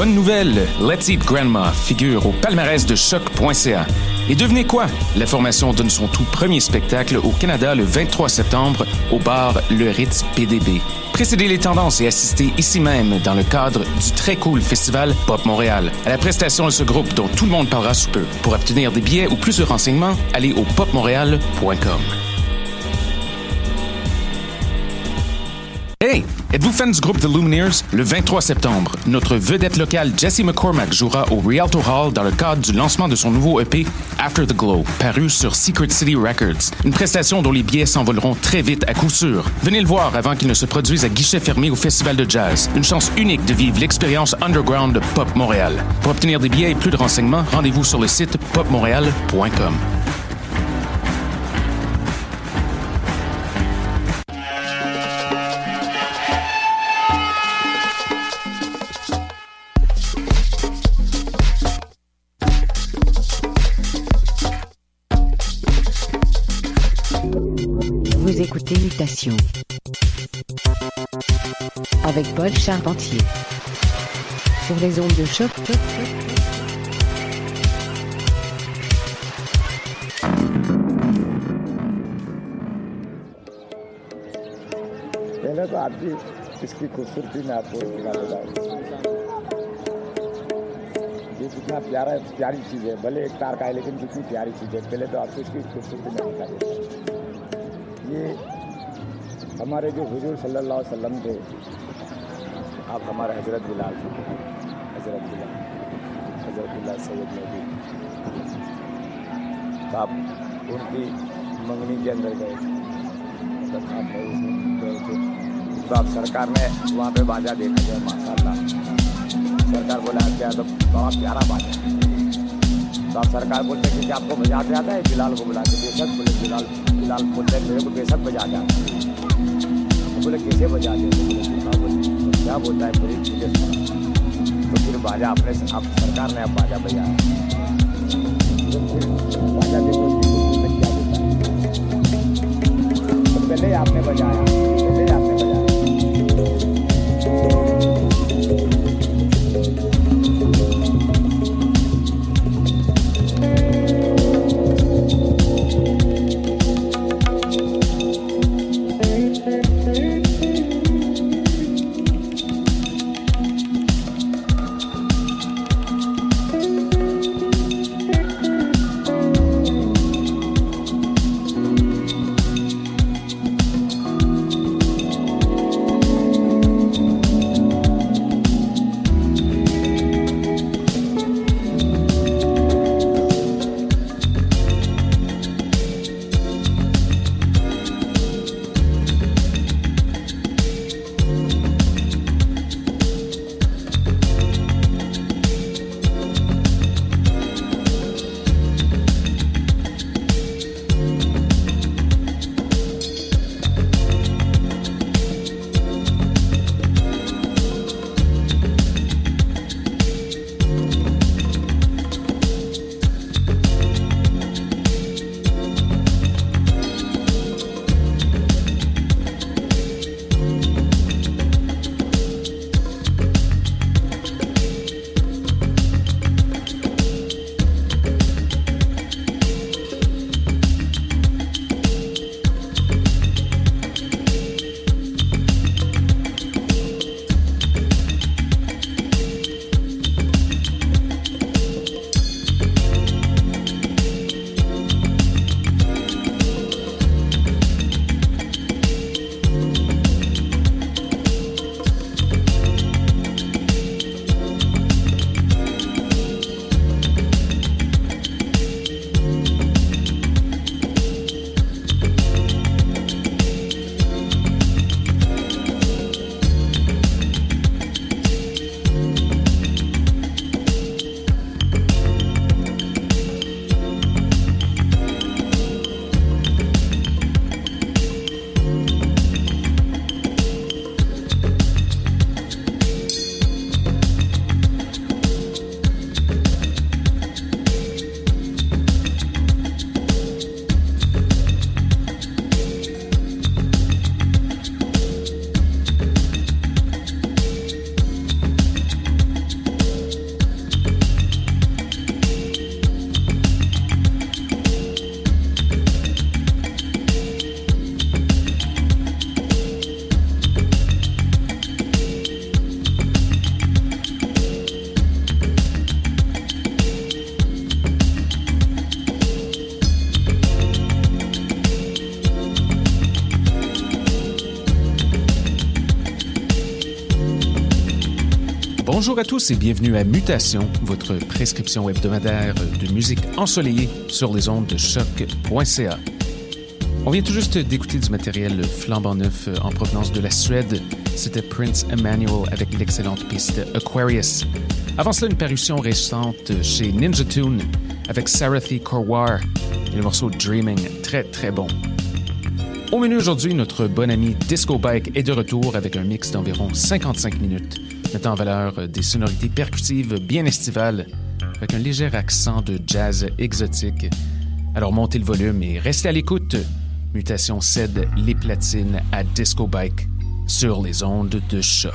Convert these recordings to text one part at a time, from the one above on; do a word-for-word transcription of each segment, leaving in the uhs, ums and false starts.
bonne nouvelle! Let's Eat Grandma figure au palmarès de choc point c a. Et devinez quoi? La formation donne son tout premier spectacle au Canada le vingt-trois septembre au bar Le Ritz P D B. Précédez les tendances et assistez ici même dans le cadre du très cool festival Pop Montréal à la prestation de ce groupe dont tout le monde parlera sous peu. Pour obtenir des billets ou plus de renseignements, allez au pop montréal point com. Hey! Êtes-vous fan du groupe The Lumineers? Le vingt-trois septembre, notre vedette locale Jesse McCormack jouera au Rialto Hall dans le cadre du lancement de son nouveau E P After the Glow, paru sur Secret City Records. Une prestation dont les billets s'envoleront très vite à coup sûr. Venez le voir avant qu'il ne se produise à guichet fermé au Festival de Jazz. Une chance unique de vivre l'expérience underground de Pop Montréal. Pour obtenir des billets et plus de renseignements, rendez-vous sur le site pop montréal point com. Écoutez Mutation avec Paul Charpentier sur les ondes de choc. पहले तो आपकी इसकी खूबसूरती में आपको दिखाना चाहूँगा। ये कितना प्यारा प्यारी चीज़ है, भले एक तार का है लेकिन कितनी प्यारी चीज़ है। पहले तो आपको इसकी खूबसूरती में दिखा देता हूँ। ये हमारे जो हुजूर सल्लल्लाहु अलैहि वसल्लम थे, आप हमारे हजरत बिलाल थे, हजरत बिलाल हजरत बिलाल सैयद नबी। तो आप उनकी मंगनी के अंदर गए, जब आप उसमें गए थे तो आप सरकार ने वहाँ पे बाजा देखा जाए, माशाल्लाह सरकार बोला क्या तो बड़ा प्यारा बाजा। तो आप सरकार बोलते हैं कि आपको बजाते आता है? बिलाल को बुलाते, बेशक बोले बिलाल बिलाल बोलते हैं मेरे को बेशक बजा जाता है। तो बोले कैसे बजा दे? तो बोले क्या बोलता है पूरी चीज़ें सुना। तो फिर बाजा अपने आप सरकार ने अब बाजा बजाया। तो फिर बाजा देखो क्या बोलता है। तो पहले आपने बजाया, पहले आपने बजाया। Bonjour à tous et bienvenue à Mutation, votre prescription hebdomadaire de musique ensoleillée sur les ondes de choc point c a. On vient tout juste d'écouter du matériel flambant neuf en provenance de la Suède. C'était Prince Emmanuel avec l'excellente piste Aquarius. Avant cela, une parution récente chez Ninja Tune avec Sarathi Korwar et le morceau Dreaming, très très bon. Au menu aujourd'hui, notre bon ami Disco Bike est de retour avec un mix d'environ cinquante-cinq minutes, mettant en valeur des sonorités percutives bien estivales avec un léger accent de jazz exotique. Alors montez le volume et restez à l'écoute. Mutation cède les platines à Disco Bike sur les ondes de choc.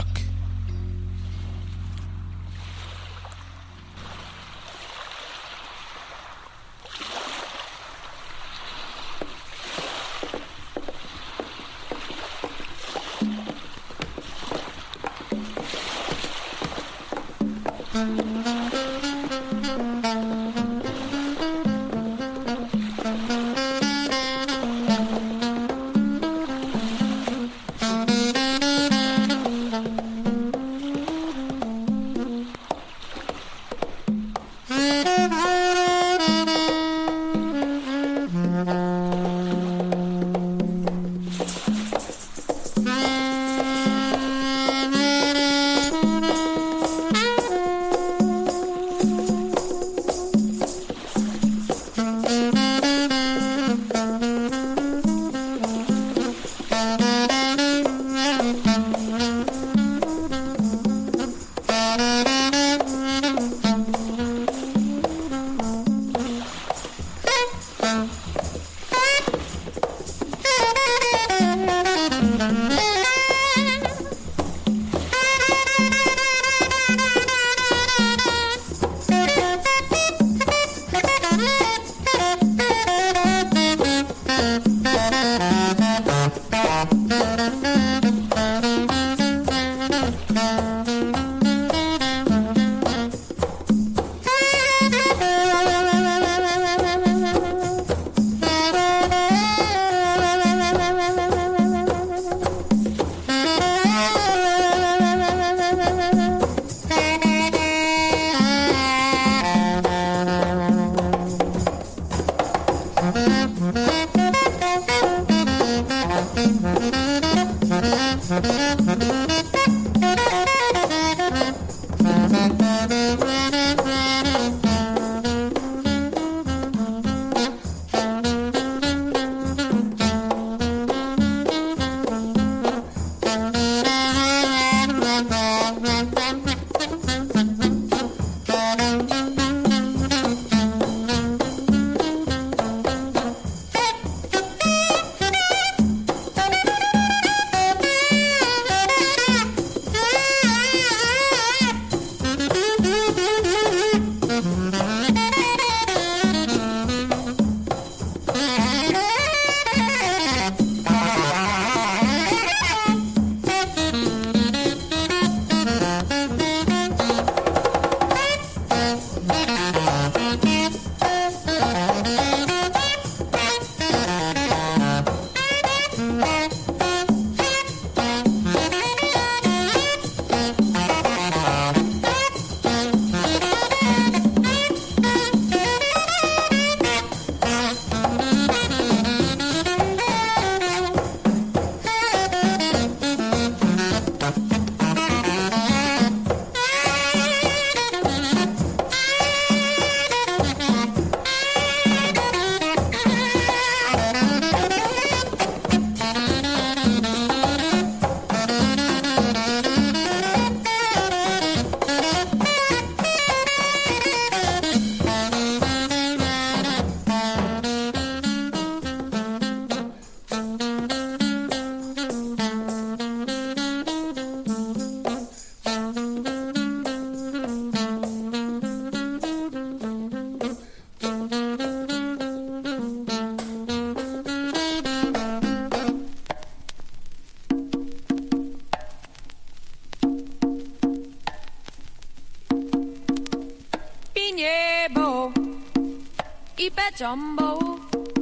Jumbo,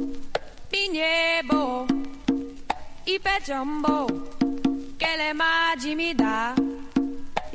Pignebo, Ipe Jumbo, che le magi mi dà,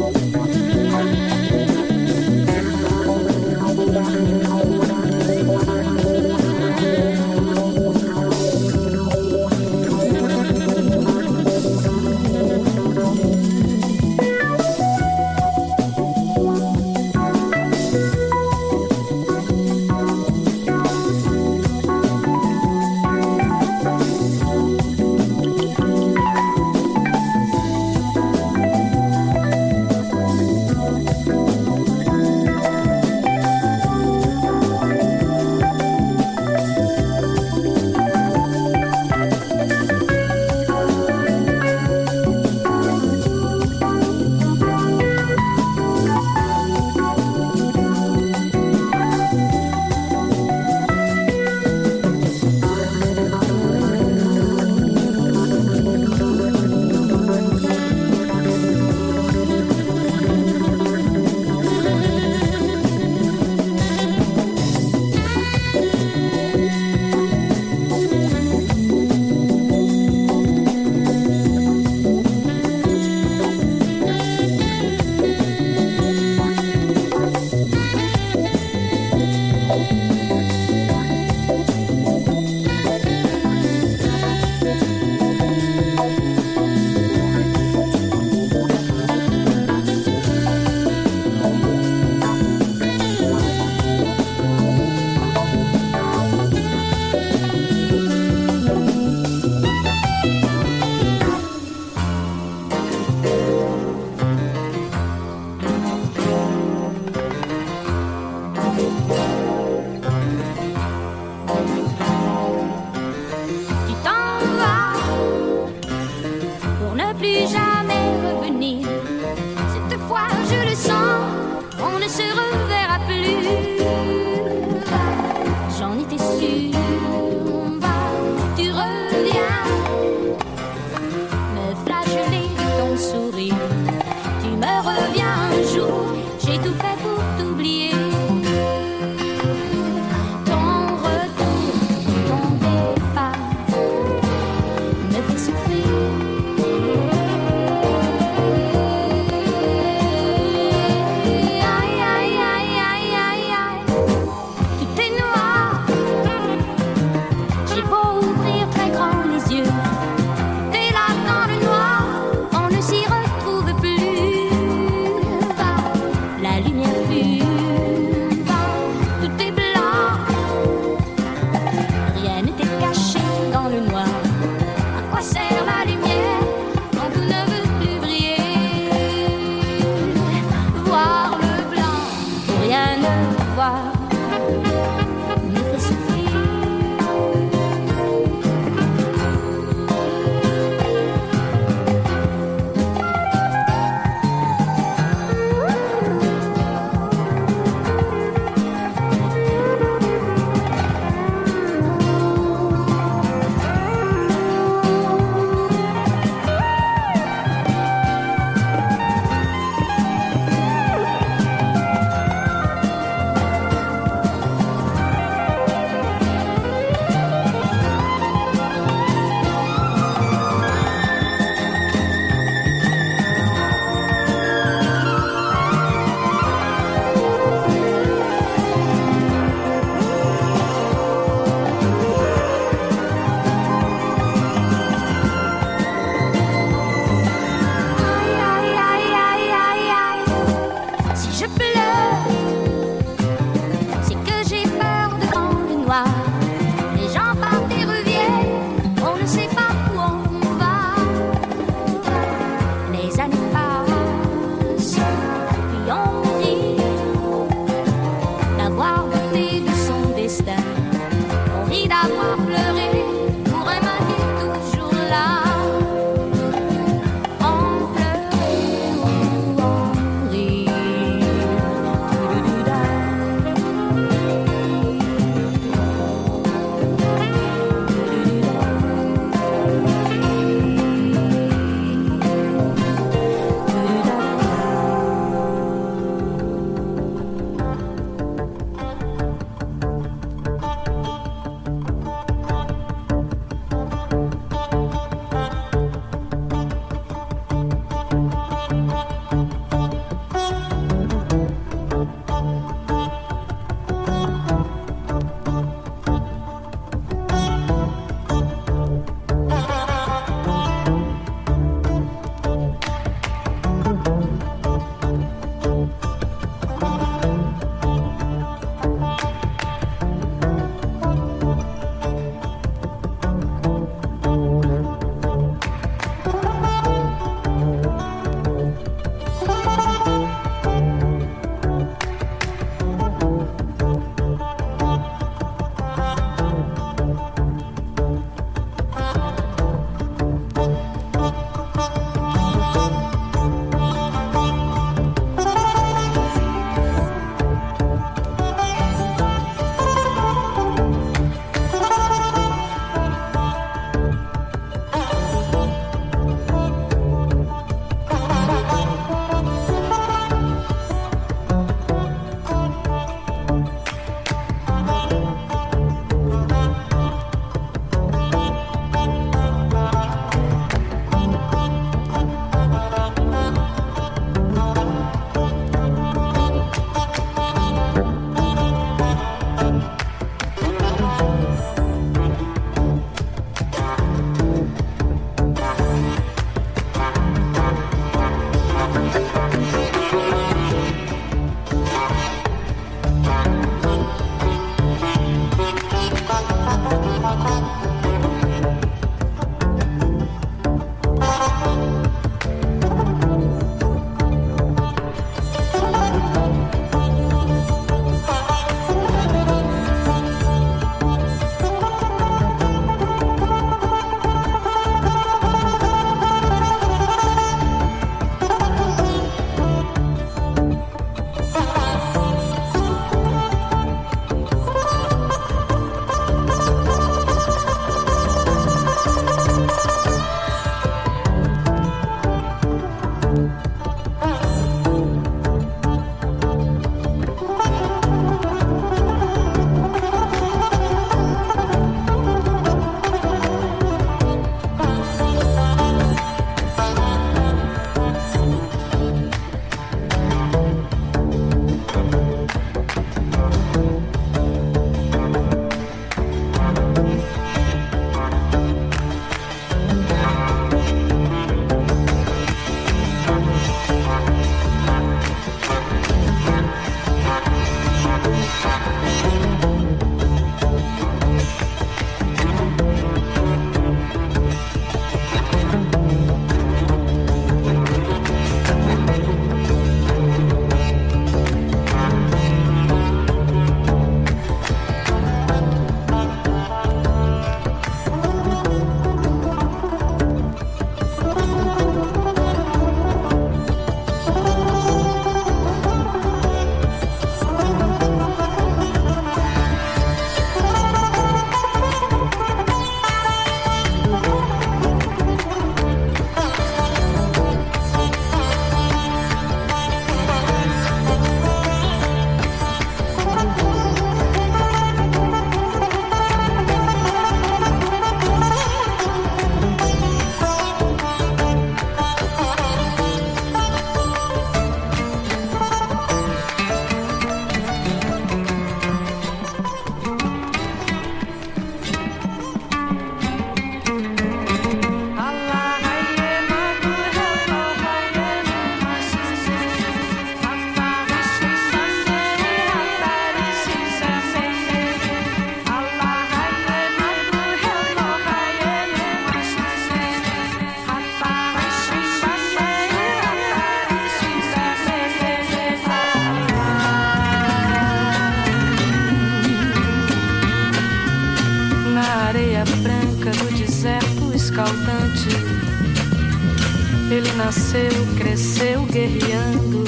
Ele nasceu, cresceu guerreando,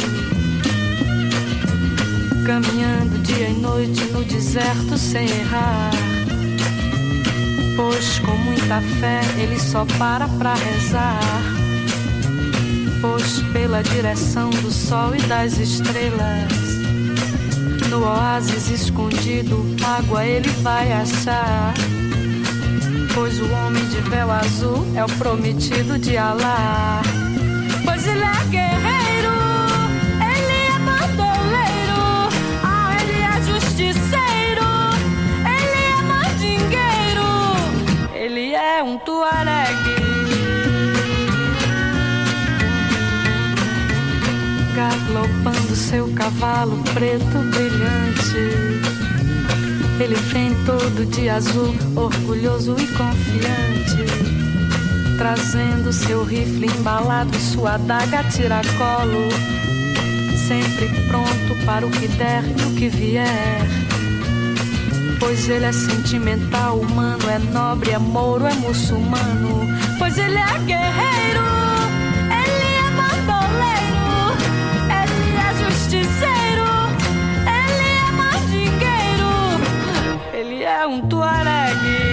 caminhando dia e noite no deserto sem errar. Pois com muita fé ele só para pra rezar. Pois pela direção do sol e das estrelas, no oásis escondido, água ele vai achar. Pois o homem de véu azul é o prometido de Alá. Pois ele é guerreiro, ele é bandoleiro, ah, ele é justiceiro, ele é mandingueiro, ele é um tuaregue. Galopando seu cavalo preto brilhante, ele vem todo de azul, orgulhoso e confiante, trazendo seu rifle embalado, sua adaga a tiracolo, sempre pronto para o que der e o que vier. Pois ele é sentimental, humano, é nobre, é mouro, é muçulmano. Pois ele é guerreiro, ele é bandoleiro, ele é justiceiro, ele é mandingueiro, ele é um tuaregue.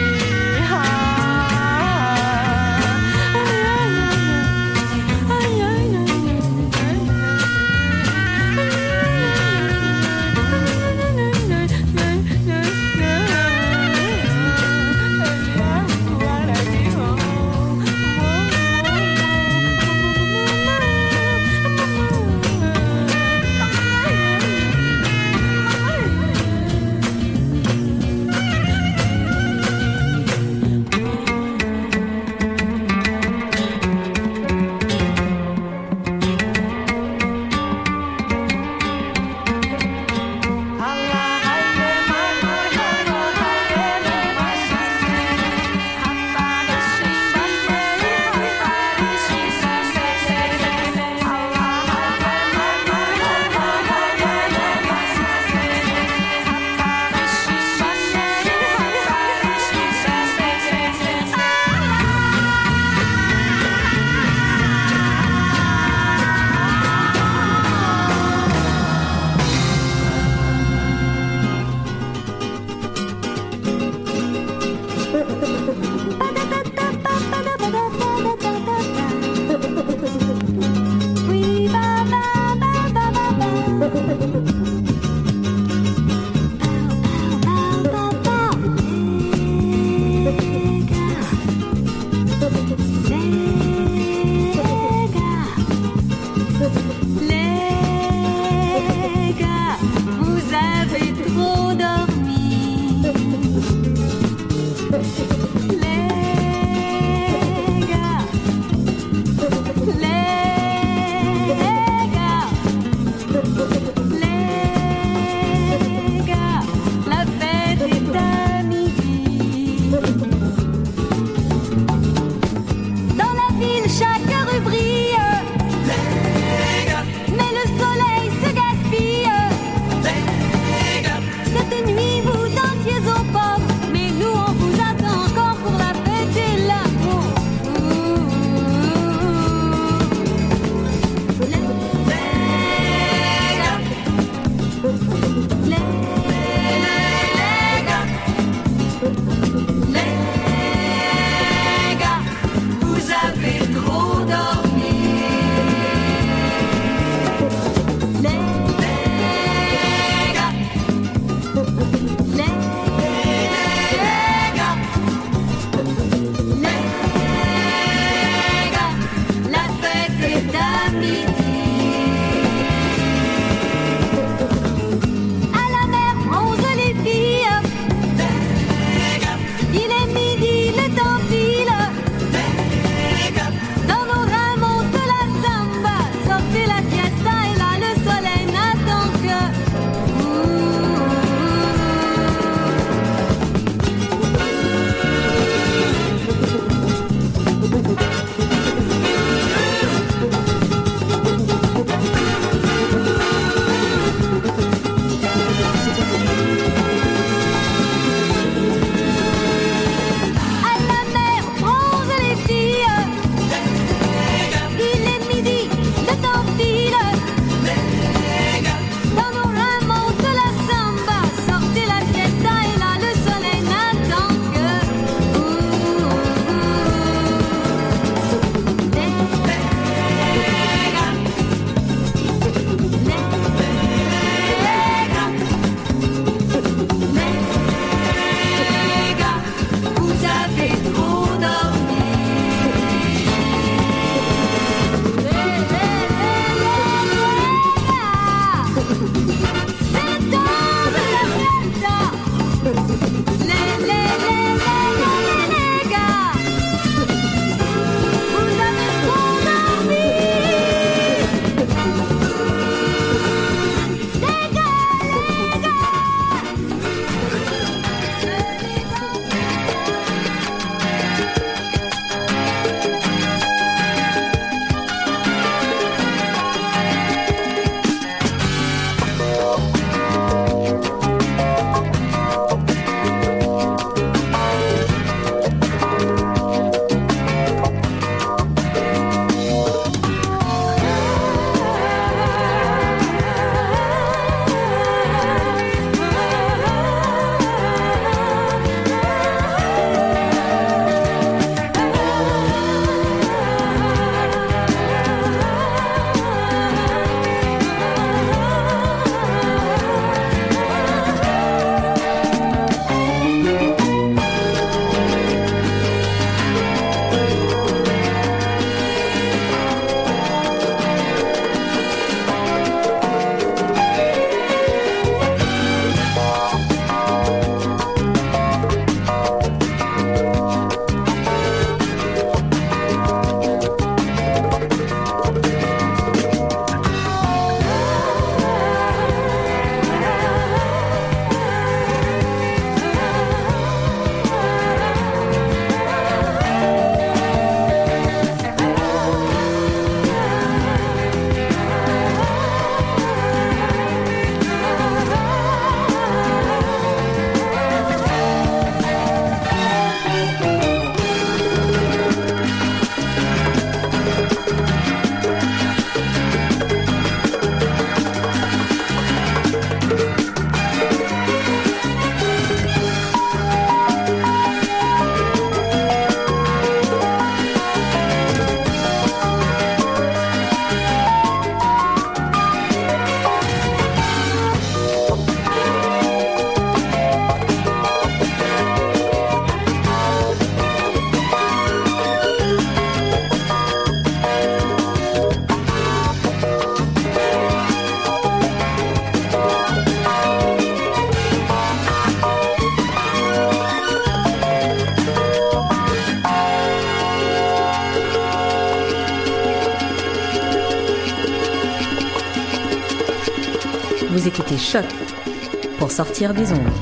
Vous écoutez Choc pour sortir des ondes.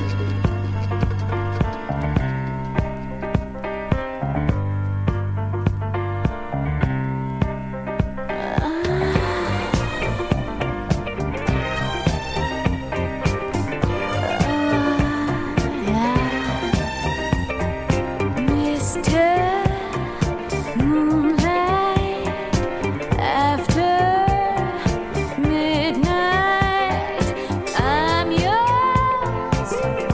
Midnight, I'm yours.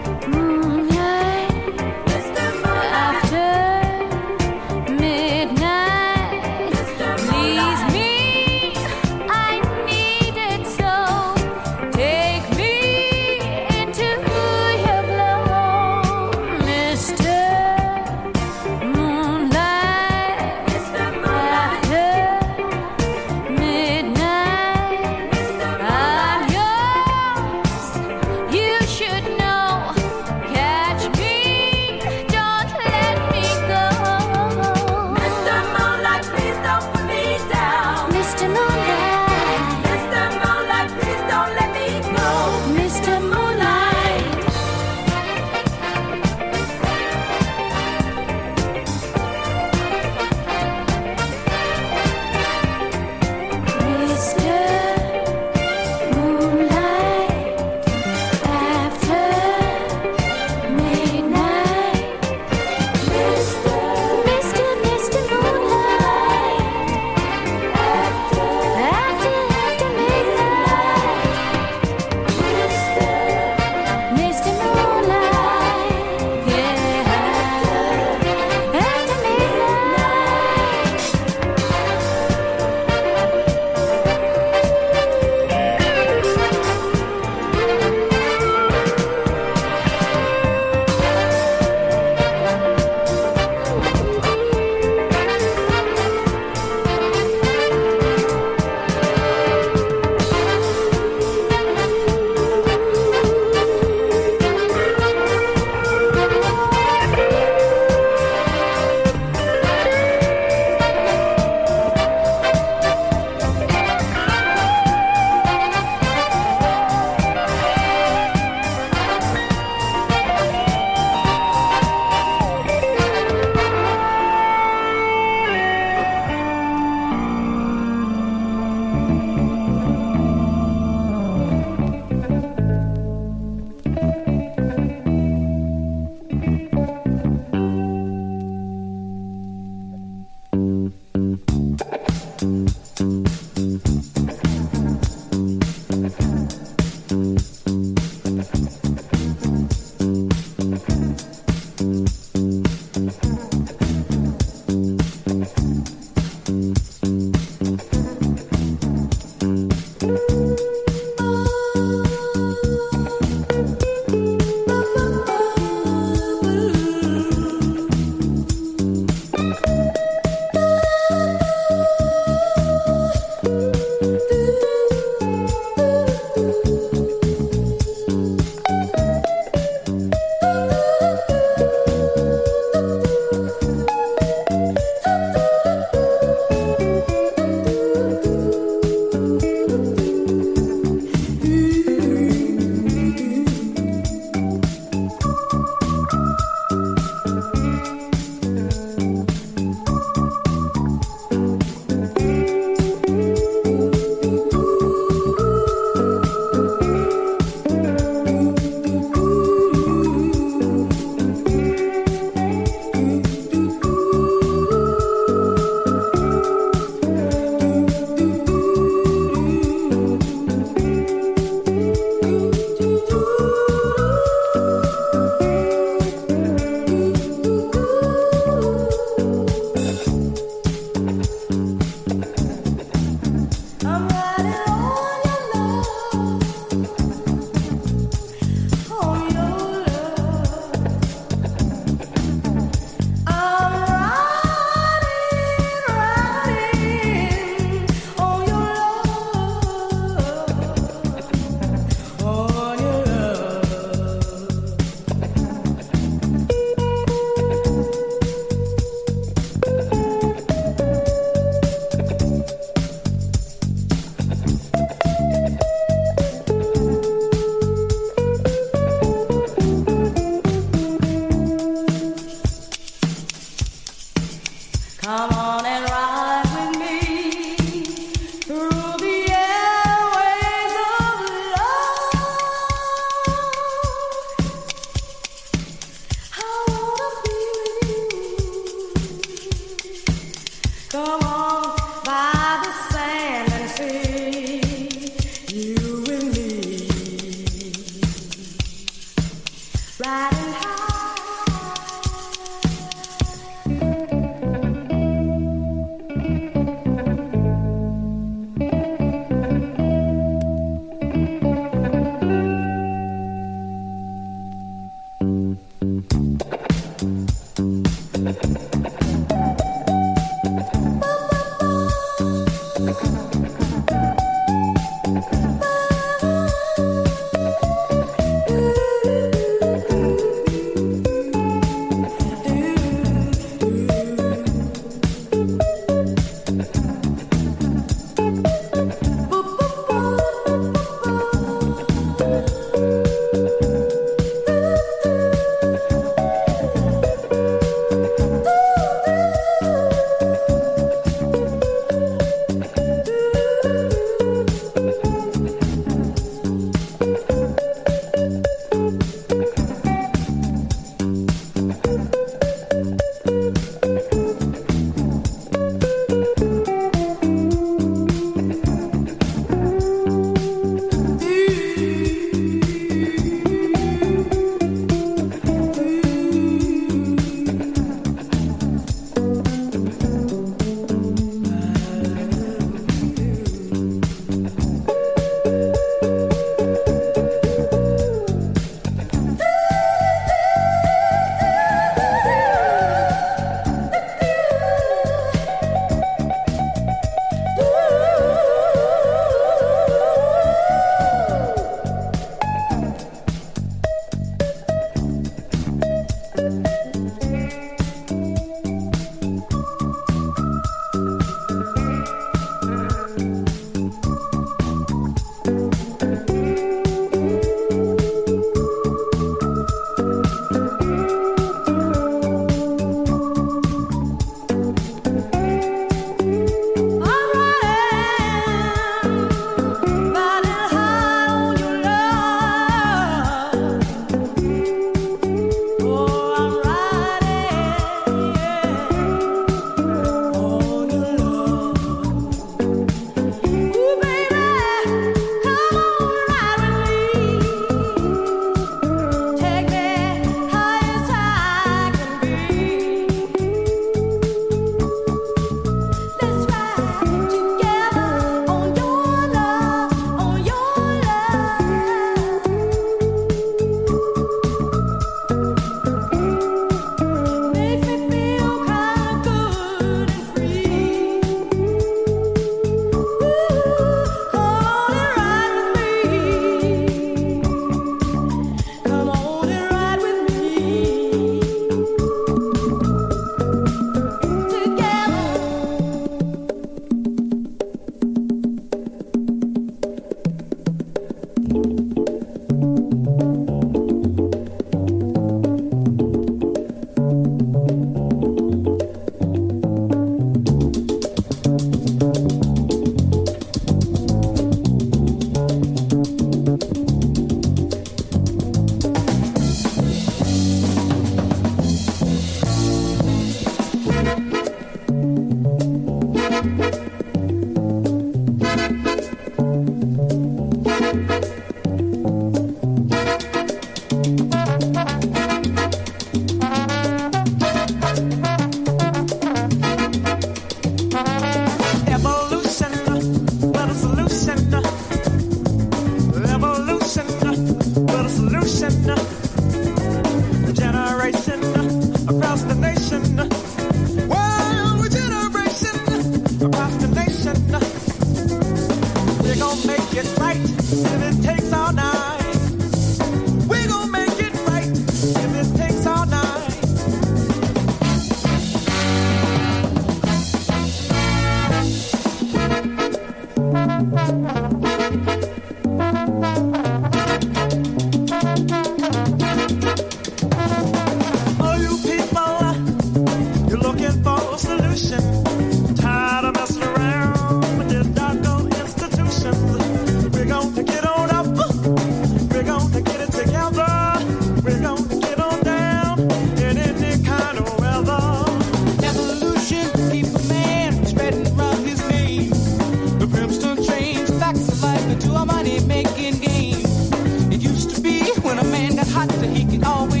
To a money making game. It used to be when a man got hot, he could always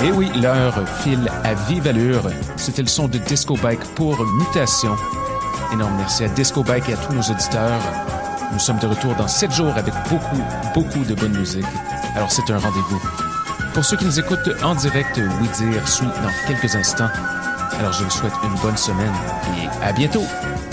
Et oui, l'heure file à vive allure. C'était le son de Disco Bike pour Mutation. Énorme merci à Disco Bike et à tous nos auditeurs. Nous sommes de retour dans sept jours avec beaucoup, beaucoup de bonne musique. Alors c'est un rendez-vous. Pour ceux qui nous écoutent en direct, Oui Dire suit dans quelques instants. Alors je vous souhaite une bonne semaine et à bientôt!